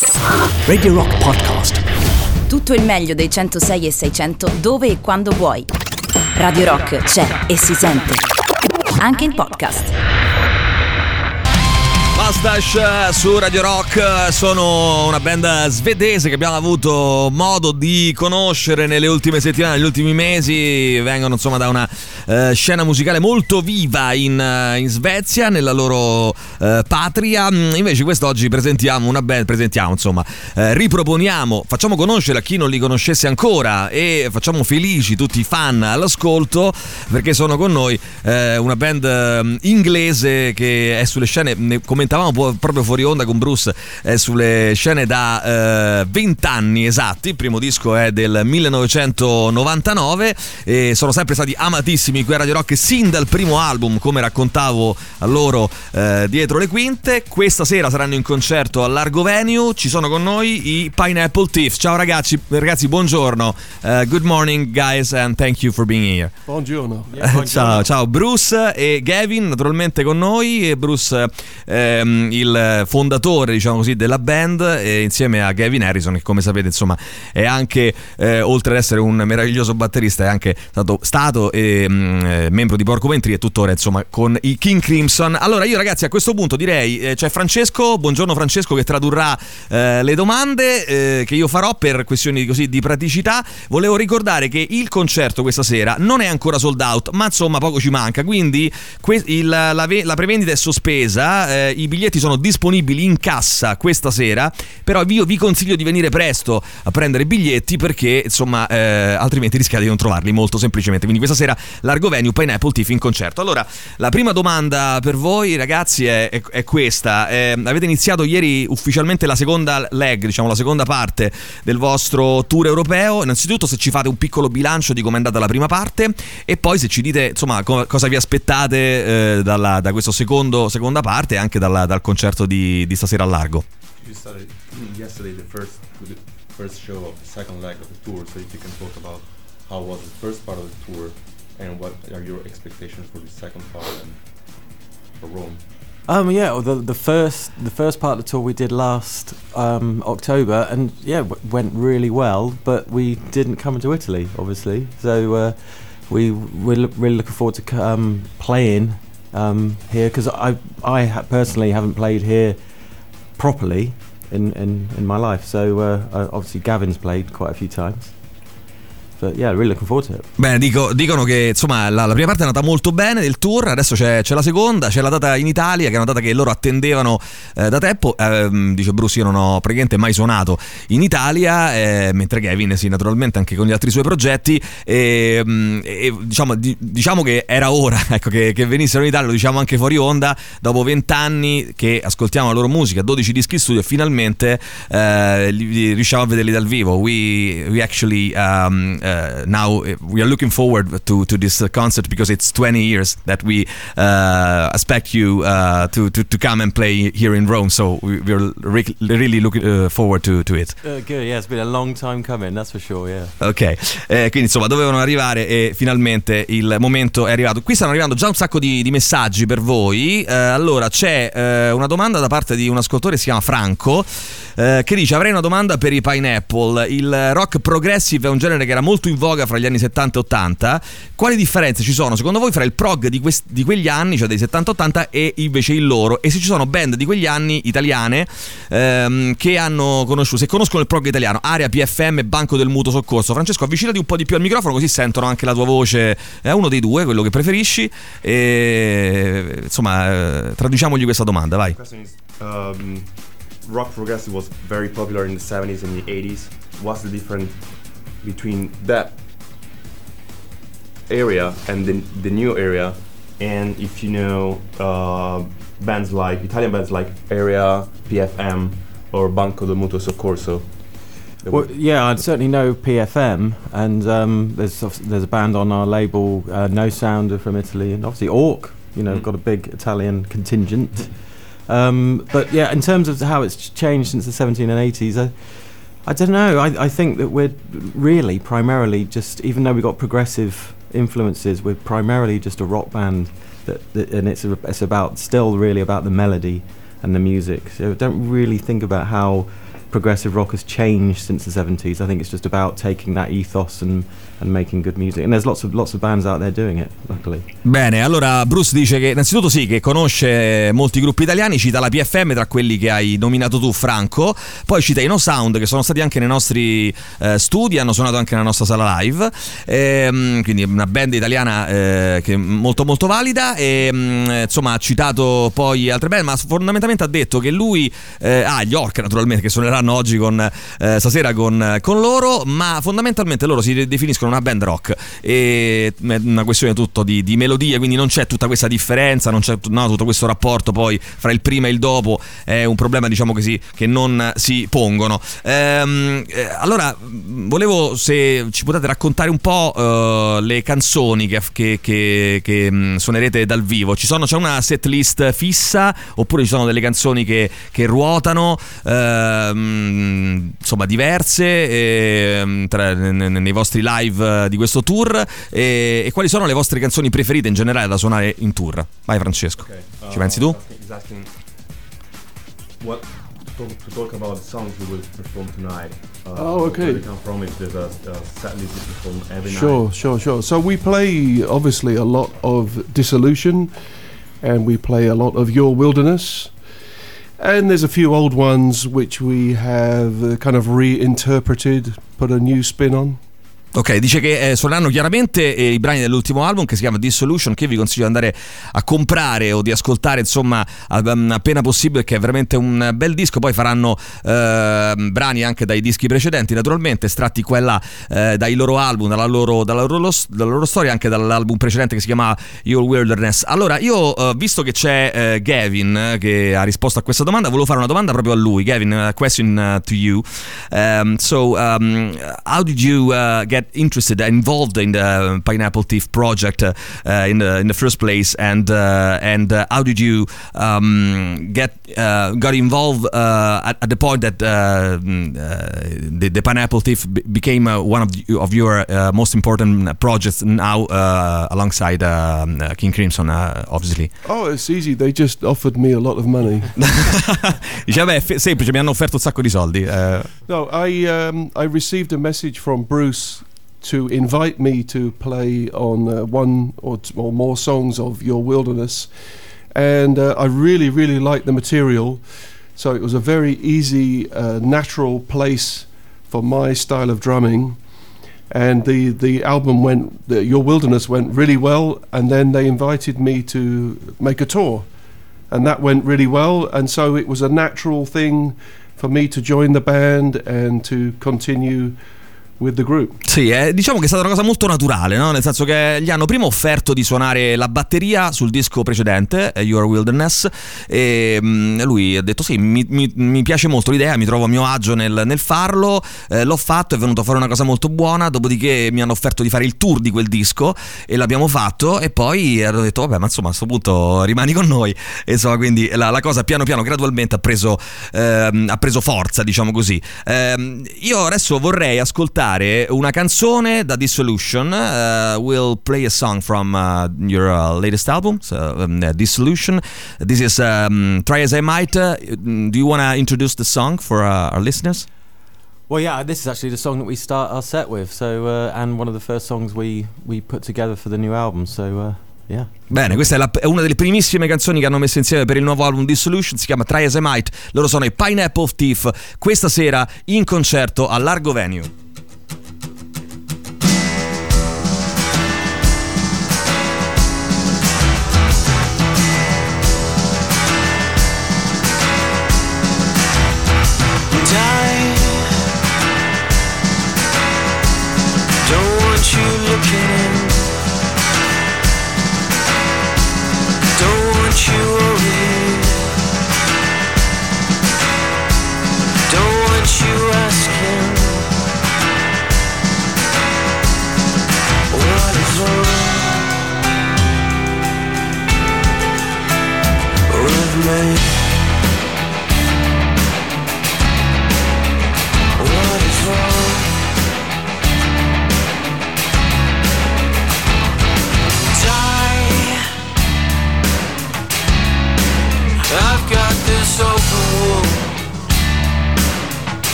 Radio Rock Podcast. Tutto il meglio dei 106 e 600 dove e quando vuoi. Radio Rock c'è e si sente. Anche in podcast. Mustache su Radio Rock, sono una band svedese che abbiamo avuto modo di conoscere nelle ultime settimane, negli ultimi mesi. Vengono insomma da una scena musicale molto viva in Svezia, nella loro patria. Invece quest'oggi presentiamo una band, riproponiamo, facciamo conoscere a chi non li conoscesse ancora e facciamo felici tutti i fan all'ascolto, perché sono con noi una band inglese che è sulle scene, ne commentavamo proprio fuori onda con Bruce, è sulle scene da 20 anni esatti. Il primo disco è del 1999 e sono sempre stati amatissimi qui a Radio Rock sin dal primo album, come raccontavo a loro dietro le quinte. Questa sera saranno in concerto al Largo Venue, ci sono con noi i Pineapple Thief. Ciao ragazzi, buongiorno. Good morning guys and thank you for being here. Buongiorno. Ciao Bruce e Gavin naturalmente con noi, e Bruce il fondatore, diciamo così, della band, insieme a Gavin Harrison, che come sapete insomma è anche oltre ad essere un meraviglioso batterista, è anche stato membro di Porcupine e tuttora insomma con i King Crimson. Allora io ragazzi a questo punto direi c'è Francesco, buongiorno Francesco, che tradurrà le domande che io farò per questioni così di praticità. Volevo ricordare che il concerto questa sera non è ancora sold out, ma insomma poco ci manca, quindi la prevendita è sospesa. I biglietti sono disponibili in cassa questa sera, però io vi consiglio di venire presto a prendere biglietti, perché insomma altrimenti rischiate di non trovarli, molto semplicemente. Quindi questa sera Largo Venue, Pineapple Thief in concerto. Allora la prima domanda per voi ragazzi è questa. Avete iniziato ieri ufficialmente la seconda leg, diciamo la seconda parte del vostro tour europeo. Innanzitutto se ci fate un piccolo bilancio di com'è andata la prima parte, e poi se ci dite insomma cosa vi aspettate da questa seconda parte, anche dal concerto di stasera al Largo. You started yesterday the first show of the second leg of the tour, so if you can talk about how was the first part of the tour and what are your expectations for the second part and for Rome. The first part of the tour we did last October, and went really well, but we didn't come to Italy obviously, so we're really looking forward to playing here, because I personally haven't played here properly in my life, so obviously Gavin's played quite a few times. But yeah, really looking forward to it. Bene, dicono che insomma la prima parte è andata molto bene del tour, adesso c'è la seconda, c'è la data in Italia, che è una data che loro attendevano da tempo. Dice Bruce, io non ho praticamente mai suonato in Italia, mentre Gavin sì, naturalmente anche con gli altri suoi progetti, e diciamo che era ora, ecco, che venissero in Italia. Lo diciamo anche fuori onda, dopo 20 anni che ascoltiamo la loro musica, 12 dischi studio, e finalmente riusciamo a vederli dal vivo. We actually now we are looking forward to this concert, because it's 20 years that we expect you to come and play here in Rome, so we're really looking forward to it. Good, yeah, it's been a long time coming, that's for sure, yeah. Ok, quindi insomma dovevano arrivare e finalmente il momento è arrivato. Qui stanno arrivando già un sacco di messaggi per voi. Allora c'è una domanda da parte di un ascoltatore, si chiama Franco, che dice: avrei una domanda per i Pineapple. Il rock progressive è un genere che era molto in voga fra gli anni 70 e 80. Quali differenze ci sono secondo voi fra il prog di quegli anni, cioè dei 70-80, e invece il loro? E se ci sono band di quegli anni italiane che hanno conosciuto, se conoscono il prog italiano, Area, PFM, Banco del Mutuo Soccorso. Francesco, avvicinati un po' di più al microfono così sentono anche la tua voce, uno dei due, quello che preferisci, e insomma traduciamogli questa domanda, vai. Rock progressive was very popular in the 70s and the 80s. What's the difference between that area and the new area? And if you know bands like Italian bands like Area, PFM, or Banco del Mutuo Soccorso. Well, yeah, I certainly know PFM, and there's a band on our label, No Sounder from Italy, and obviously Orc. Got a big Italian contingent. But yeah, in terms of how it's changed since the 70s and 80s, I don't know. I think that we're really primarily just, even though we got progressive influences, we're primarily just a rock band. And it's about still really about the melody and the music. So don't really think about how progressive rock has changed since the 70s. I think it's just about taking that ethos and making good music, and there's lots of bands out there doing it, luckily. Bene, allora Bruce dice che innanzitutto sì, che conosce molti gruppi italiani, cita la PFM tra quelli che hai nominato tu, Franco, poi cita i No Sound, che sono stati anche nei nostri studi, hanno suonato anche nella nostra sala live, quindi una band italiana che è molto molto valida, e insomma ha citato poi altre band, ma fondamentalmente ha detto che lui gli Orca naturalmente, che suoneranno oggi stasera con loro, ma fondamentalmente loro si definiscono una band rock, e è una questione tutto di melodie, quindi non c'è tutta questa differenza, non c'è tutto questo rapporto poi fra il prima e il dopo, è un problema, diciamo così, che non si pongono. Allora volevo, se ci potete raccontare un po' le canzoni che suonerete dal vivo. C'è una set list fissa, oppure ci sono delle canzoni che ruotano, insomma diverse, nei vostri live di questo tour, e quali sono le vostre canzoni preferite in generale da suonare in tour? Vai Francesco, ci pensi tu? What to talk about the songs we will perform tonight. Okay. Where we come from, if there's a set list we perform every night. Sure. So we play obviously a lot of Dissolution, and we play a lot of Your Wilderness. And there's a few old ones which we have kind of reinterpreted, put a new spin on. Ok, dice che suoneranno chiaramente i brani dell'ultimo album, che si chiama Dissolution, che vi consiglio di andare a comprare o di ascoltare, insomma, appena possibile, che è veramente un bel disco. Poi faranno brani anche dai dischi precedenti, naturalmente estratti qua e là dai loro album, dalla loro storia, anche dall'album precedente che si chiama Your Wilderness. Allora io, visto che c'è Gavin che ha risposto a questa domanda, volevo fare una domanda proprio a lui. Gavin, a question to you. How did you get interested, involved in the Pineapple Thief project in the first place, and how did you got involved at the point that the Pineapple Thief became one of your most important projects now, alongside King Crimson, obviously? Oh, it's easy. They just offered me a lot of money. Dice, beh, è semplice, mi hanno offerto un sacco di soldi. No, I received a message from Bruce to invite me to play on one or more songs of Your Wilderness, and I really liked the material, so it was a very easy, natural place for my style of drumming, and the album Your Wilderness went really well, and then they invited me to make a tour, and that went really well, and so it was a natural thing for me to join the band and to continue with the group. Sì, diciamo che è stata una cosa molto naturale, no? Nel senso che gli hanno prima offerto di suonare la batteria sul disco precedente, Your Wilderness, e lui ha detto sì, mi piace molto l'idea, mi trovo a mio agio nel farlo, l'ho fatto, è venuto a fare una cosa molto buona, dopodiché mi hanno offerto di fare il tour di quel disco e l'abbiamo fatto, e poi hanno detto vabbè, ma insomma a questo punto rimani con noi, e insomma quindi la cosa piano piano, gradualmente ha preso forza, diciamo così. Io adesso vorrei ascoltare una canzone da Dissolution. We'll play a song from your latest album, Dissolution. This is Try As I Might. Do you want to introduce the song for our listeners? Well, yeah, this is actually the song that we start our set with, so and one of the first songs we put together for the new album, so yeah. Bene, questa è una delle primissime canzoni che hanno messo insieme per il nuovo album Dissolution, si chiama Try As I Might. Loro sono i Pineapple Thief, questa sera in concerto a Largo Venue.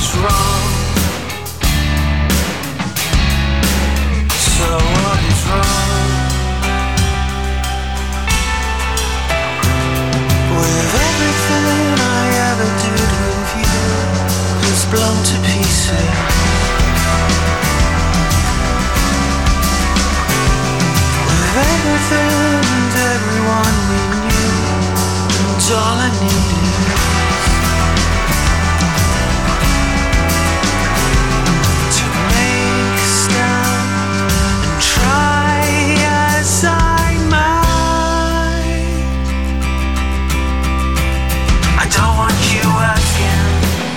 is wrong? So what is wrong? With everything I ever did with you is blown to pieces. With everything and everyone we knew, and all I needed to make a stand and try as I might. I don't want you again.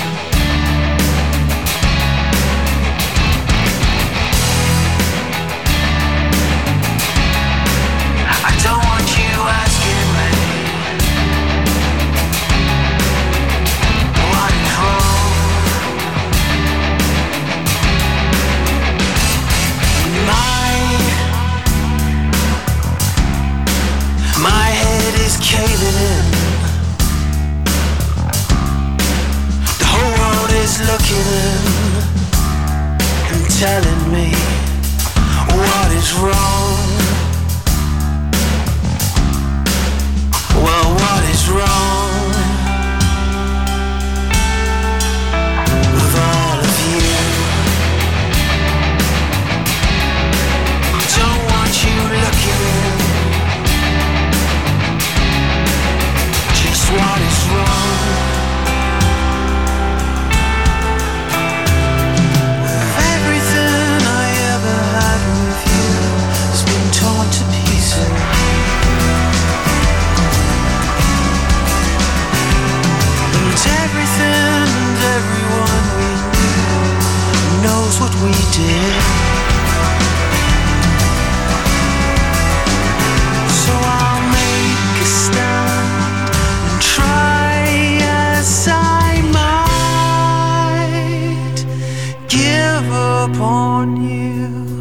I don't want you asking me what is wrong. My head is caving in. The whole world is looking in and telling me what is wrong. Well, what is wrong with all of you? Don't want you looking in. Just what is wrong with everything I ever had with you has been torn to pieces. And everything and everyone we knew knows what we did. So I'll make a stand and try as I might give up on you.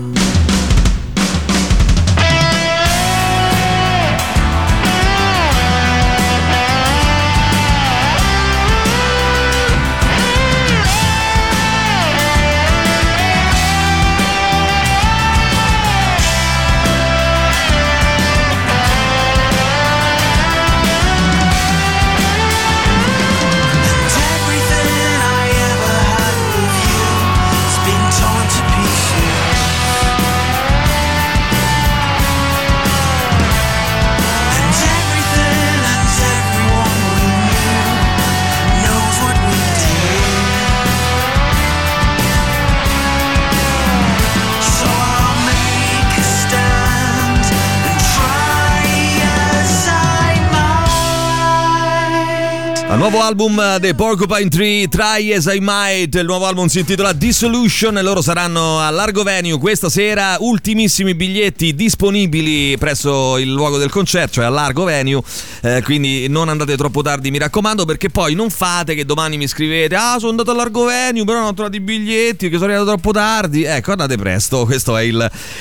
Nuovo album dei Porcupine Tree, Try As I Might. Il nuovo album si intitola Dissolution e loro saranno a Largo Venue questa sera. Ultimissimi biglietti disponibili presso il luogo del concerto, cioè a Largo Venue, quindi non andate troppo tardi, mi raccomando, perché poi non fate che domani mi scrivete: ah, sono andato a Largo Venue però non ho trovato i biglietti, che sono arrivato troppo tardi. Ecco, andate presto, questo è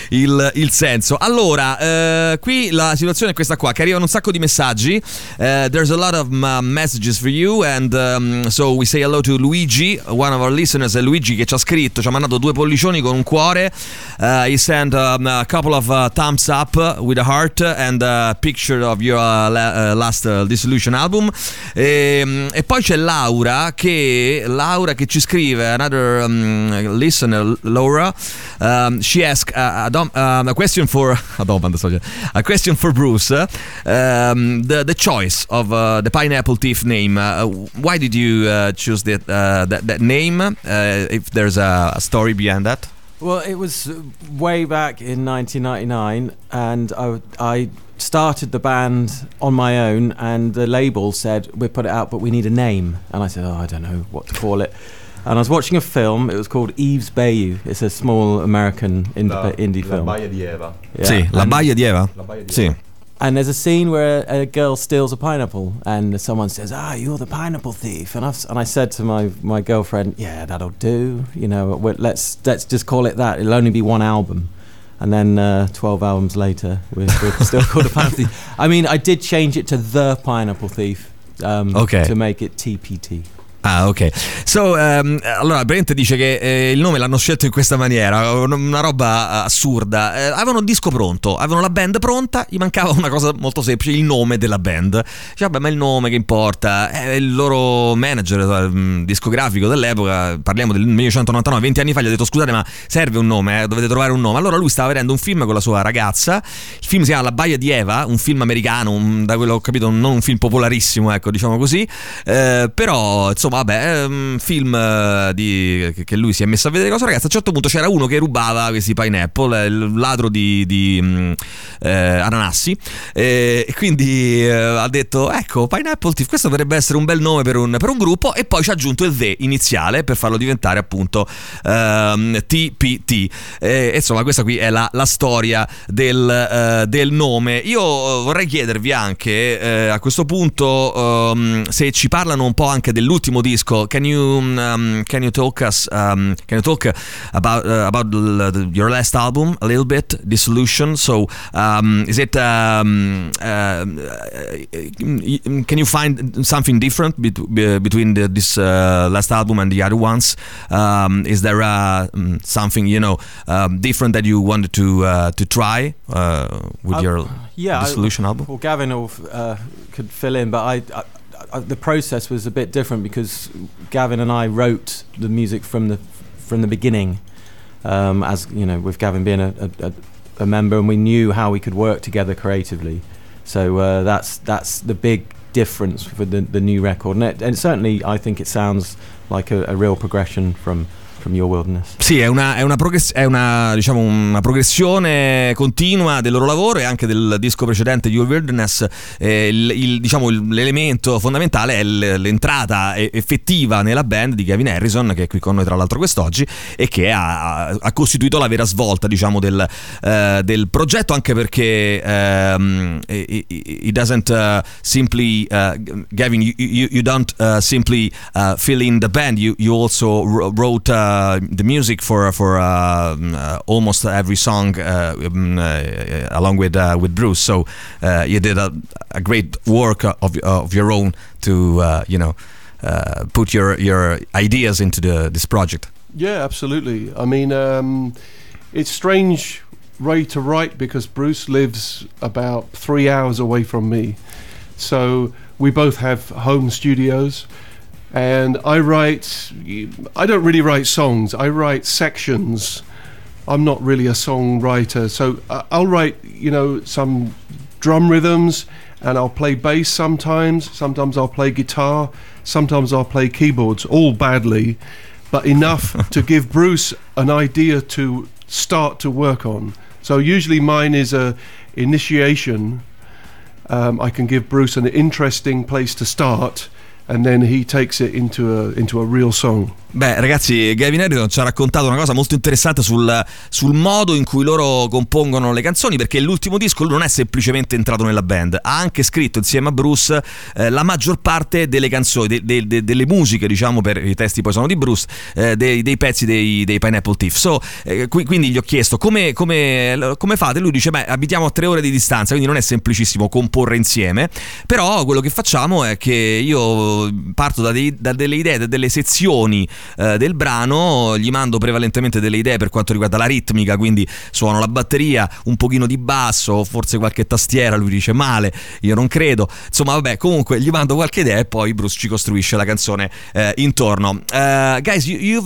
il senso. Allora, qui la situazione è questa qua, che arrivano un sacco di messaggi. There's a lot of messages for you, and so we say hello to Luigi, one of our listeners. È Luigi che ci ha scritto, ci ha mandato 2 pollicioni con un cuore. He sent a couple of thumbs up with a heart and a picture of your last Dissolution album. E poi c'è Laura che ci scrive, another listener, Laura. She asked a question for a question for Bruce. The choice of the Pineapple Thief name. Why did you choose that name? If there's a story behind that. Well, it was way back in 1999, and I started the band on my own, and the label said, "We put it out, but we need a name." And I said, "Oh, I don't know what to call it." And I was watching a film. It was called Eve's Bayou. It's a small American indie film. La Baia di Eva. Yeah. Sì, la Baia di Eva. La Baia di Sì. Eva. And there's a scene where a girl steals a pineapple, and someone says, "Ah, you're the pineapple thief." And I said to my girlfriend, "Yeah, that'll do. You know, let's just call it that. It'll only be one album." And then 12 albums later, we're still called the Pineapple Thief. I mean, I did change it to The Pineapple Thief, Okay. to make it TPT. Ah, ok. So, allora Brent dice che il nome l'hanno scelto in questa maniera, una roba assurda. Avevano il disco pronto, avevano la band pronta, gli mancava una cosa molto semplice, il nome della band. Dice, vabbè, ma il nome che importa? Il loro manager discografico dell'epoca, parliamo del 1999, 20 anni fa, gli ha detto: scusate, ma serve un nome, dovete trovare un nome. Allora lui stava vedendo un film con la sua ragazza, il film si chiama La Baia di Eva, un film americano, da quello che ho capito non un film popolarissimo, ecco, diciamo così, però insomma vabbè, film che lui si è messo a vedere con la sua ragazza. A un certo punto c'era uno che rubava questi pineapple, il ladro di ananassi, e quindi ha detto: ecco, Pineapple Thief, questo potrebbe essere un bel nome per un gruppo, e poi ci ha aggiunto il The iniziale per farlo diventare appunto TPT. Insomma, questa qui è la storia del nome. Io vorrei chiedervi anche a questo punto se ci parlano un po' anche dell'ultimo disco. Can you talk about your last album a little bit, Dissolution? So is it can you find something different between this last album and the other ones? Is there something different that you wanted to try with your Dissolution album? Well, Gavin could fill in, but I the process was a bit different because Gavin and I wrote the music from the beginning, as you know, with Gavin being a member, and we knew how we could work together creatively. So that's the big difference for the new record, and certainly I think it sounds like a real progression from Your Wilderness. Sì, è una progressione continua del loro lavoro e anche del disco precedente, Your Wilderness. L'elemento fondamentale è l'entrata effettiva nella band di Gavin Harrison, che è qui con noi tra l'altro quest'oggi, e che ha costituito la vera svolta, diciamo, del progetto, anche perché it doesn't simply Gavin, you don't simply fill in the band, you also wrote the music for almost every song along with Bruce. So you did a great work of your own to put your ideas into this project. Yeah, absolutely. I mean, it's strange way to write because Bruce lives about 3 hours away from me, so we both have home studios. And I don't really write songs, I write sections. I'm not really a songwriter, so I'll write, some drum rhythms, and I'll play bass sometimes I'll play guitar, sometimes I'll play keyboards, all badly, but enough to give Bruce an idea to start to work on. So usually mine is a initiation. I can give Bruce an interesting place to start, and then he takes it into a real song. Beh, ragazzi, Gavin Harrison ci ha raccontato una cosa molto interessante sul modo in cui loro compongono le canzoni, perché l'ultimo disco lui non è semplicemente entrato nella band, ha anche scritto insieme a Bruce la maggior parte delle canzoni, delle musiche, diciamo, per i testi poi sono di Bruce, dei pezzi dei Pineapple Thief. So, quindi gli ho chiesto come fate. Lui dice: beh, abitiamo a 3 ore di distanza, quindi non è semplicissimo comporre insieme, però quello che facciamo è che io parto da delle idee, da delle sezioni del brano, gli mando prevalentemente delle idee per quanto riguarda la ritmica, quindi suono la batteria, un pochino di basso, forse qualche tastiera, lui dice male, io non credo, insomma vabbè, comunque gli mando qualche idea e poi Bruce ci costruisce la canzone intorno. Guys,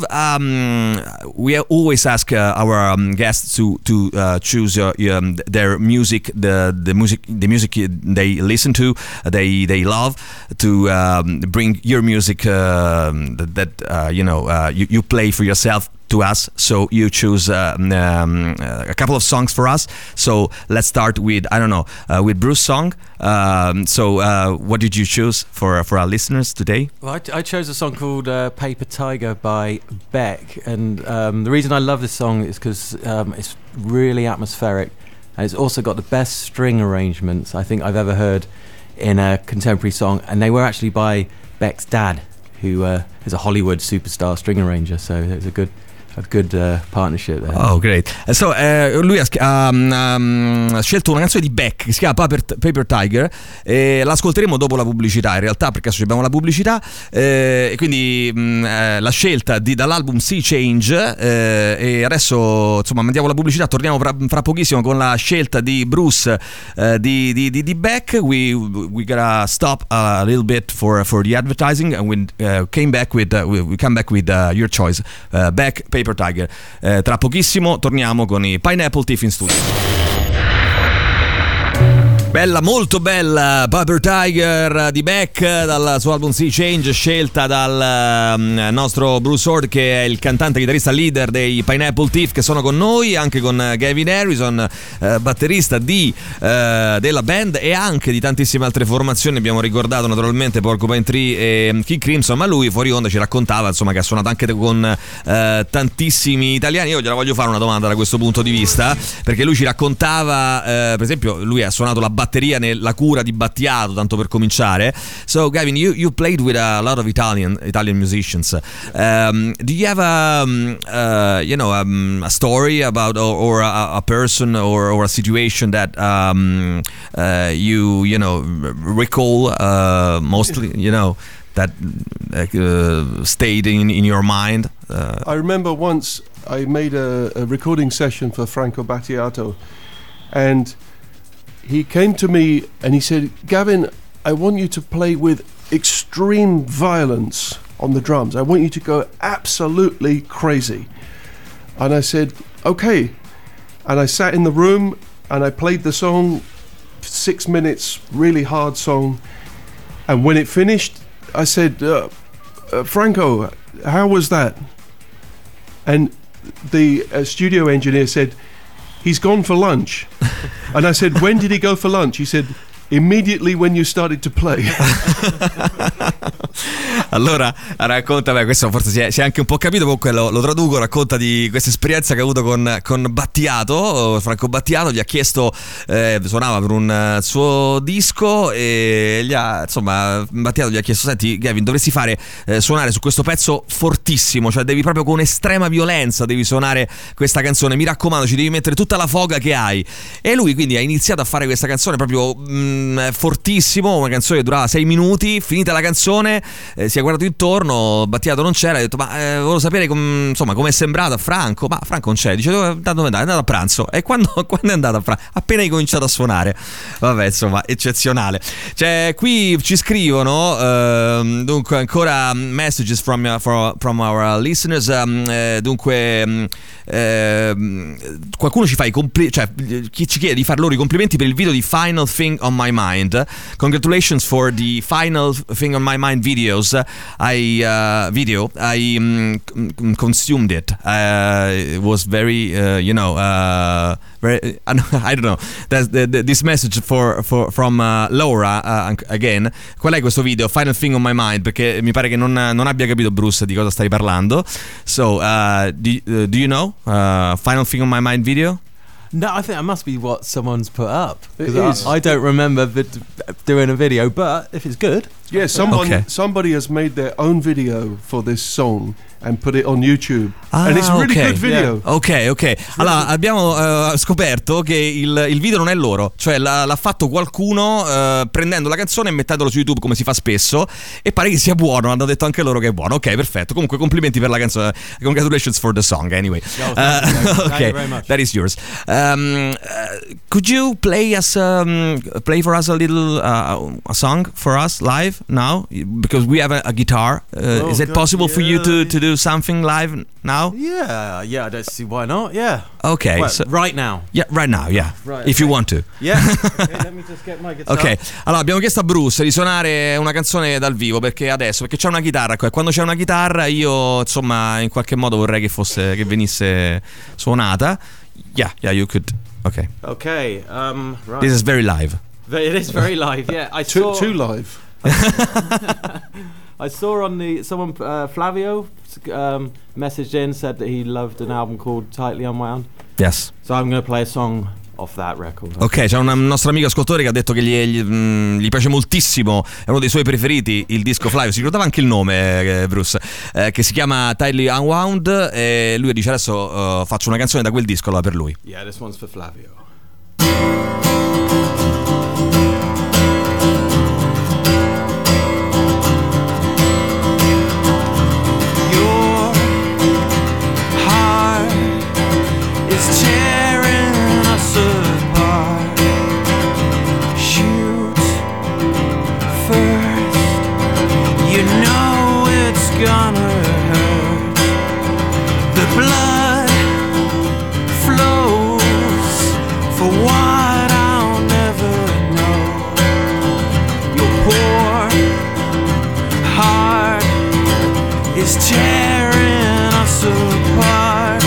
we always ask our guests to choose their music, the music they listen to, they love, to bring your music you play for yourself to us. So you choose a couple of songs for us. So let's start with with Bruce's song. What did you choose for our listeners today? Well, I chose a song called Paper Tiger by Beck, and the reason I love this song is because it's really atmospheric, and it's also got the best string arrangements I think I've ever heard in a contemporary song, and they were actually by Beck's dad, who is a Hollywood superstar string arranger, so it's a good a good partnership there. Oh, great. So, lui ha scelto una canzone di Beck che si chiama Paper Tiger, e l'ascolteremo dopo la pubblicità, in realtà, perché adesso abbiamo la pubblicità, e quindi la scelta dall'album Sea Change, e adesso insomma mandiamo la pubblicità, torniamo fra pochissimo con la scelta di Bruce di Beck. We gotta stop a little bit for the advertising, and we come back with your choice, Beck, Paper Tiger. Tra pochissimo torniamo con i Pineapple Thief in studio. Bella, molto bella, Paper Tiger di Beck dal suo album Sea Change, scelta dal nostro Bruce Ord, che è il cantante chitarrista leader dei Pineapple Thief, che sono con noi, anche con Gavin Harrison, batterista della band e anche di tantissime altre formazioni. Abbiamo ricordato naturalmente Porcupine Tree e King Crimson, ma lui fuori onda ci raccontava insomma che ha suonato anche con tantissimi italiani. Io gliela voglio fare una domanda da questo punto di vista, perché lui ci raccontava, per esempio, lui ha suonato la batteria nella cura di Battiato, tanto per cominciare. So Gavin, you played with a lot of Italian musicians. Do you have a story about or a person or a situation that you recall mostly, that stayed in your mind? I remember once I made a recording session for Franco Battiato, and he came to me and he said, Gavin, I want you to play with extreme violence on the drums. I want you to go absolutely crazy. And I said, okay. And I sat in the room and I played the song, 6 minutes, really hard song. And when it finished, I said, Franco, how was that? And the studio engineer said, he's gone for lunch. And I said, when did he go for lunch? He said, immediately when you started to play. Allora racconta, questo forse si è anche un po' capito, comunque lo traduco, racconta di questa esperienza che ha avuto con Battiato, Franco Battiato. Gli ha chiesto, suonava per un suo disco e Battiato gli ha chiesto, senti Gavin, dovresti suonare su questo pezzo fortissimo, cioè devi proprio con estrema violenza devi suonare questa canzone, mi raccomando, ci devi mettere tutta la foga che hai. E lui quindi ha iniziato a fare questa canzone proprio fortissimo, una canzone che durava 6 minuti. Finita la canzone, si è guardato intorno, Battiato non c'era, ha detto, ma volevo sapere come è sembrato a Franco. Ma Franco non c'è, dice, dove è andato a pranzo. E quando è andato a pranzo? Appena hai cominciato a suonare. Vabbè, insomma, eccezionale. Cioè, qui ci scrivono dunque ancora messages from our listeners. Dunque qualcuno ci fa chi ci chiede di far loro i complimenti per il video di Final Thing on My Mind. Congratulations for the Final Thing on My Mind videos. I consumed it. It was very very, I don't know. This message from Laura again. Qual è questo video? Final Thing on My Mind, perché mi pare che non abbia capito Bruce di cosa stai parlando. So do you know Final Thing on My Mind video? No, I think that must be what someone's put up. I don't remember doing a video, but if it's good. Yeah, somebody has made their own video for this song and put it on YouTube. And it's a really good video. Yeah. Ok. Allora, abbiamo scoperto che il video non è loro, cioè l'ha fatto qualcuno prendendo la canzone e mettendolo su YouTube, come si fa spesso, e pare che sia buono. Hanno detto anche loro che è buono. Ok, perfetto. Comunque complimenti per la canzone. Congratulations for the song anyway. Thank you very much. That is yours. Could you play for us a little a song for us live now, because we have a guitar? Is it possible for you to do something live now? Yeah, I don't see why not. Yeah. Okay. Well, right now. Yeah, right now. Yeah. Right, if you want to. Yeah. Okay, let me just get my guitar. Ok. Allora abbiamo chiesto a Bruce di suonare una canzone dal vivo perché c'è una chitarra qua, e quando c'è una chitarra io insomma in qualche modo vorrei che venisse suonata. Yeah, you could. Okay. Okay. Right. This is very live. It is very live. Yeah. I saw Too live. I saw on someone Flavio messaged in, said that he loved an album called Tightly Unwound. Yes. So I'm going to play a song off that record. Ok, c'è un nostro amico ascoltatore che ha detto che gli piace moltissimo, è uno dei suoi preferiti, il disco Flavio. Si ricordava anche il nome, Bruce, che si chiama Tightly Unwound, e lui dice adesso faccio una canzone da quel disco allora per lui. Yeah, this one's for Flavio. Your heart is tearing us apart. Shoot first, you know it's gonna hurt. The blood flows for what I'll never know. Your poor heart is tearing us apart.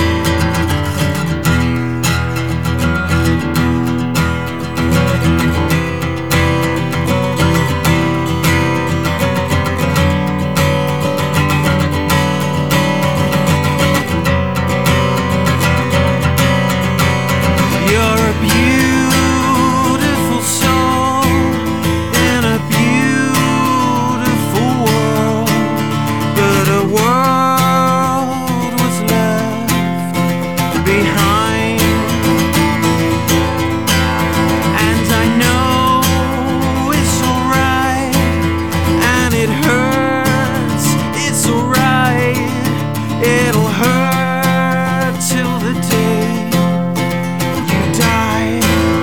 You're a beautiful soul in a beautiful world, but a world was left behind. And I know it's alright, and it hurts, it's alright, it'll hurt till the day you die.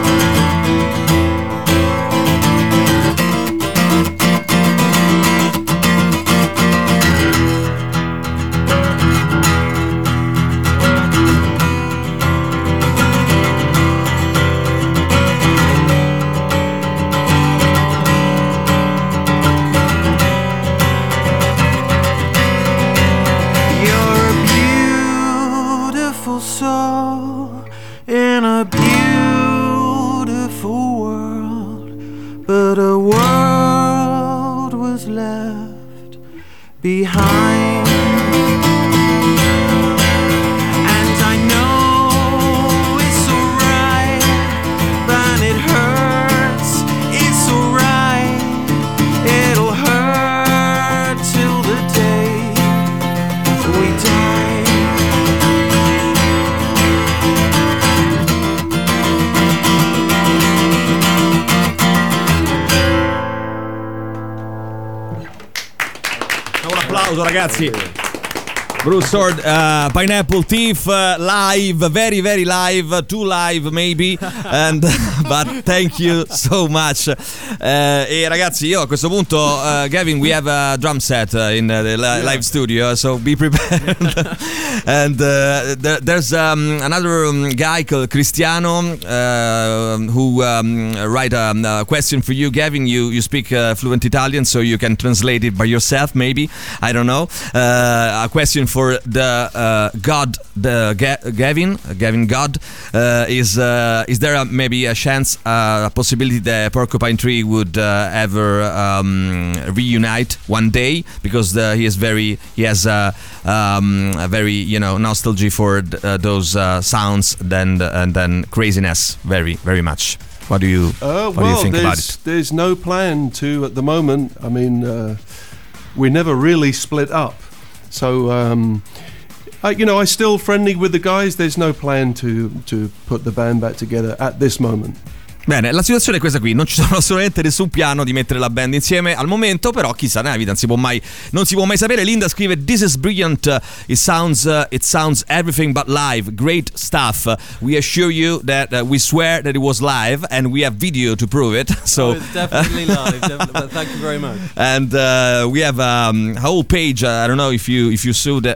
You're a beautiful soul in a beautiful world, but a world was left behind. And I know it's alright, but it hurts, it's alright, it'll hurt till the day we die. Un applauso ragazzi. Bruce Sword, Pineapple Thief, live, very very live, too live maybe, and but thank you so much. E ragazzi, io a questo punto, Gavin, we have a drum set in the live studio, so be prepared. And there's another guy called Cristiano who write a question for you, Gavin. You speak fluent Italian, so you can translate it by yourself, maybe. I don't know. A question for the God, Gavin God. Is there maybe a chance, a possibility that Porcupine Tree would ever reunite one day, because he has a very nostalgia for those sounds and then craziness very very much. What do you think about it? There's no plan to at the moment. I mean, we never really split up, so I still friendly with the guys. There's no plan to put the band back together at this moment. Bene, la situazione è questa qui, non ci sono assolutamente nessun piano di mettere la band insieme al momento, però chissà, nella vita non si può mai sapere. Linda scrive: "This is brilliant, it sounds everything but live, great stuff. We assure you that we swear that it was live and we have video to prove it." So it's definitely live, but thank you very much. And we have a whole page. I don't know if you saw that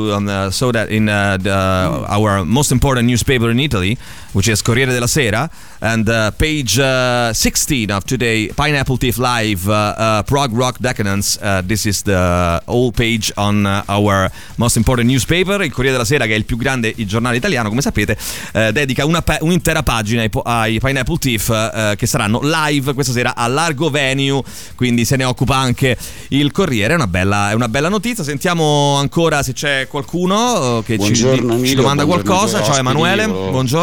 in our most important newspaper in Italy, which is Corriere della Sera, and page 16 of today, Pineapple Thief Live, Prog Rock Decadence. This is the whole page on our most important newspaper. Il Corriere della Sera, che è il più grande giornale italiano, come sapete, dedica un'intera pagina ai Pineapple Thief, che saranno live questa sera a Largo Venue, quindi se ne occupa anche il Corriere. È una bella notizia. Sentiamo ancora se c'è qualcuno che ci domanda qualcosa. Ciao Emanuele, buongiorno. Chiedere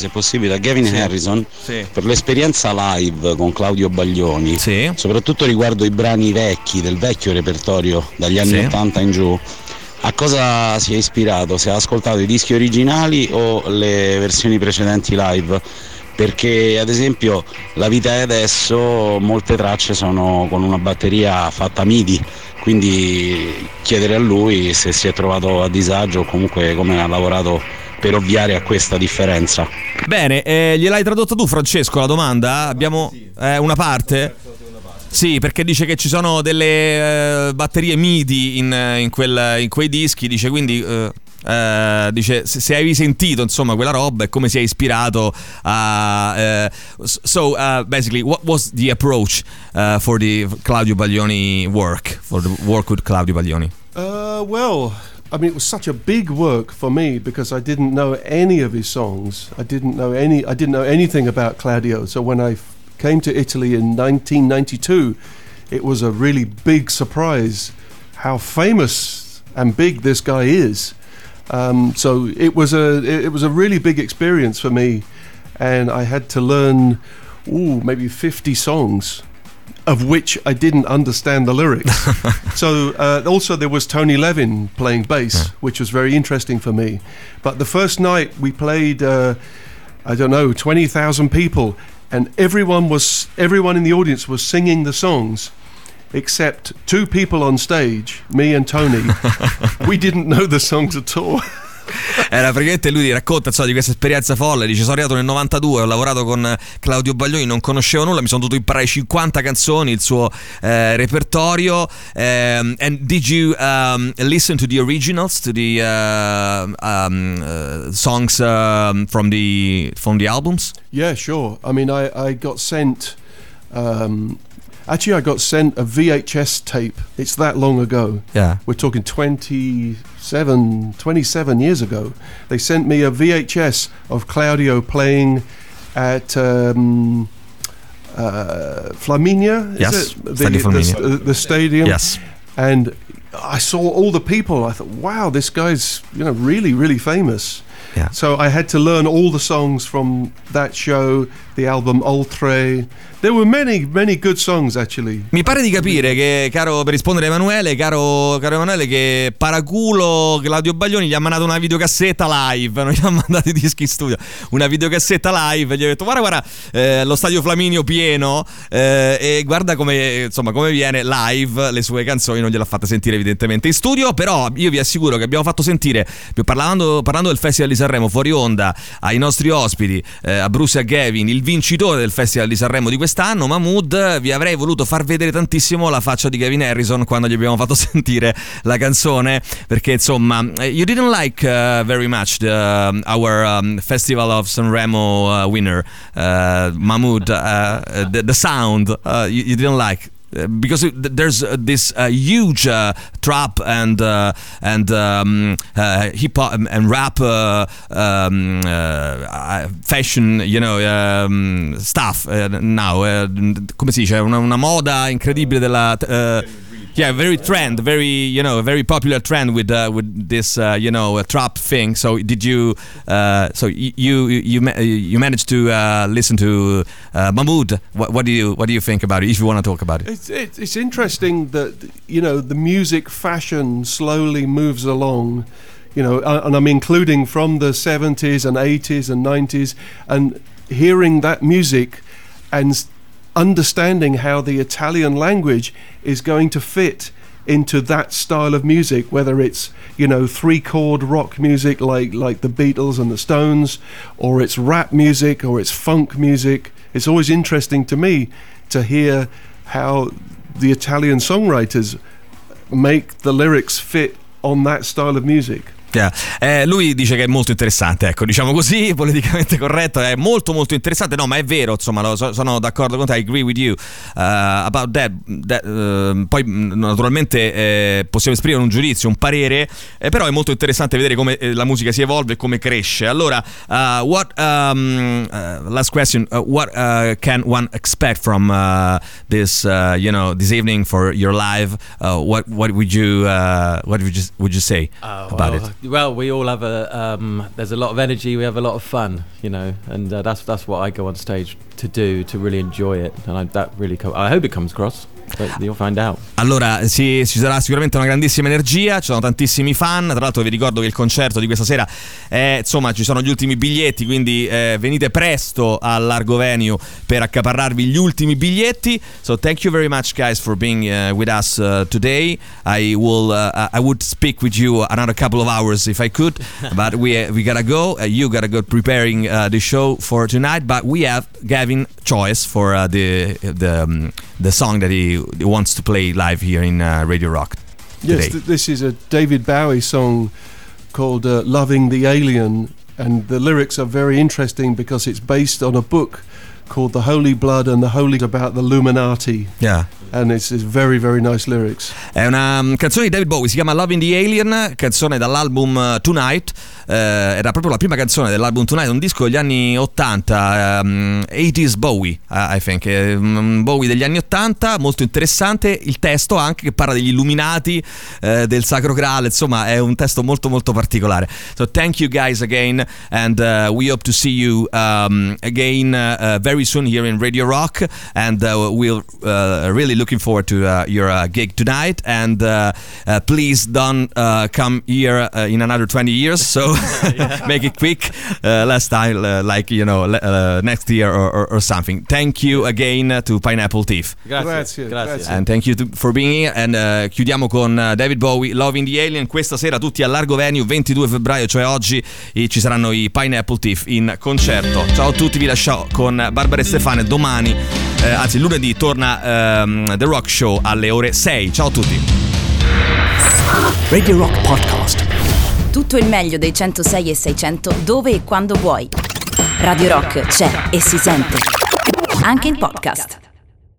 se possibile, a Gavin Harrison Sì. per l'esperienza live con Claudio Baglioni, Sì. soprattutto riguardo i brani vecchi, del vecchio repertorio dagli anni Sì. 80 in giù. A cosa si è ispirato? Se ha ascoltato i dischi originali o le versioni precedenti live? Perché ad esempio La vita è adesso, molte tracce sono con una batteria fatta MIDI, quindi chiedere a lui se si è trovato a disagio o comunque come ha lavorato per ovviare a questa differenza. Bene, gliel'hai tradotta tu, Francesco, la domanda? Abbiamo una parte? Sì, perché dice che ci sono delle batterie MIDI in quei dischi, dice, quindi dice se hai sentito insomma quella roba e come si è ispirato a basically what was the approach for the Claudio Baglioni work, for the work with Claudio Baglioni? Well, I mean, it was such a big work for me because I didn't know any of his songs. I didn't know anything about Claudio. So when I came to Italy in 1992, it was a really big surprise how famous and big this guy is. So it was a really big experience for me, and I had to learn maybe 50 songs, of which I didn't understand the lyrics. So also there was Tony Levin playing bass, which was very interesting for me. But the first night we played, 20,000 people, and everyone in the audience was singing the songs, except two people on stage, me and Tony. We didn't know the songs at all. Era praticamente, lui racconta di questa esperienza folle, dice: sono arrivato nel 92, ho lavorato con Claudio Baglioni, non conoscevo nulla, mi sono dovuto imparare 50 canzoni, il suo repertorio. And did you listen to the originals, to the songs from the albums? Yeah, sure. I mean, I got sent actually I got sent a VHS tape. It's that long ago. Yeah. We're talking 27 years ago. They sent me a VHS of Claudio playing at Flaminia. Yes, is Stadio Flaminia. The stadium. Yes. And I saw all the people. I thought, wow, this guy's really, really famous. Yeah. So I had to learn all the songs from that show, the album Oltre. There were many, many good songs actually. Mi pare di capire che, per rispondere a Emanuele, caro Emanuele, che paraculo Claudio Baglioni gli ha mandato una videocassetta live, non gli ha mandato i dischi in studio, una videocassetta live, gli ha detto guarda lo stadio Flaminio pieno, e guarda come viene live, le sue canzoni non gliel'ha fatta sentire evidentemente in studio, però io vi assicuro che abbiamo fatto sentire, parlando del Festival di Sanremo fuori onda, ai nostri ospiti, a Bruce e a Gavin, il vincitore del Festival di Sanremo di quest'anno, Mahmood. Vi avrei voluto far vedere tantissimo la faccia di Gavin Harrison quando gli abbiamo fatto sentire la canzone, perché insomma you didn't like very much our Festival of Sanremo winner, Mahmood, the sound you didn't like. Because there's this huge trap and hip hop and rap fashion, stuff now. Come si dice? Una moda incredibile della. Yeah, very trend, very a very popular trend with this trap thing. So did you? So you managed to listen to Mahmood? What do you think about it? If you want to talk about it, it's interesting that the music fashion slowly moves along. And I'm including from the 70s and 80s and 90s, and hearing that music and understanding how the Italian language is going to fit into that style of music, whether it's 3-chord rock music like the Beatles and the Stones, or it's rap music, or it's funk music. It's always interesting to me to hear how the Italian songwriters make the lyrics fit on that style of music. Lui dice che è molto interessante, ecco, diciamo così, politicamente corretto, è molto molto interessante. No, ma è vero, insomma, sono d'accordo con te, I agree with you about that. Poi naturalmente possiamo esprimere un giudizio, un parere, però è molto interessante vedere come la musica si evolve e come cresce. Allora, last question, what can one expect from this this evening for your live? What would you say about it? Well, we all have there's a lot of energy, we have a lot of fun, you know, and that's what I go on stage to do, to really enjoy it, and I hope it comes across. But you'll find out. Allora, ci sarà sicuramente una grandissima energia, ci sono tantissimi fan. Tra l'altro vi ricordo che il concerto di questa sera insomma, ci sono gli ultimi biglietti, quindi venite presto al Largo Venue per accaparrarvi gli ultimi biglietti. So thank you very much guys for being with us today. I would speak with you another couple of hours if I could, but we gotta go. You gotta go preparing the show for tonight, but we have Gavin choice for the song that he wants to play live here in Radio Rock today. Yes, this is a David Bowie song called Loving the Alien, and the lyrics are very interesting because it's based on a book called The Holy Blood and the Holy, about the Illuminati. Yeah. And it's very very nice lyrics. È una canzone di David Bowie, si chiama Loving the Alien, canzone dall'album Tonight. Era proprio la prima canzone dell'album Tonight, un disco degli anni 80, 80s Bowie, I think, Bowie degli anni 80, molto interessante. Il testo anche, che parla degli illuminati, del Sacro Graal, insomma è un testo molto molto particolare. So thank you guys again, and we hope to see you again very soon here in Radio Rock, and we'll really looking forward to your gig tonight, and please don't come here in another 20 years, so make it quick, last time, like, you know, next year or something. Thank you again to Pineapple Thief. Grazie. And thank you for being here, and chiudiamo con David Bowie, Loving the Alien. Questa sera tutti al Largo Venue, 22 febbraio, cioè oggi, ci saranno i Pineapple Thief in concerto. Ciao a tutti, vi lascio con Barbara e Stefano. Domani, anzi lunedì, torna The Rock Show alle ore 6. Ciao a tutti. Radio Rock Podcast. Tutto il meglio dei 106 e 600 dove e quando vuoi. Radio Rock c'è e si sente. Anche in podcast.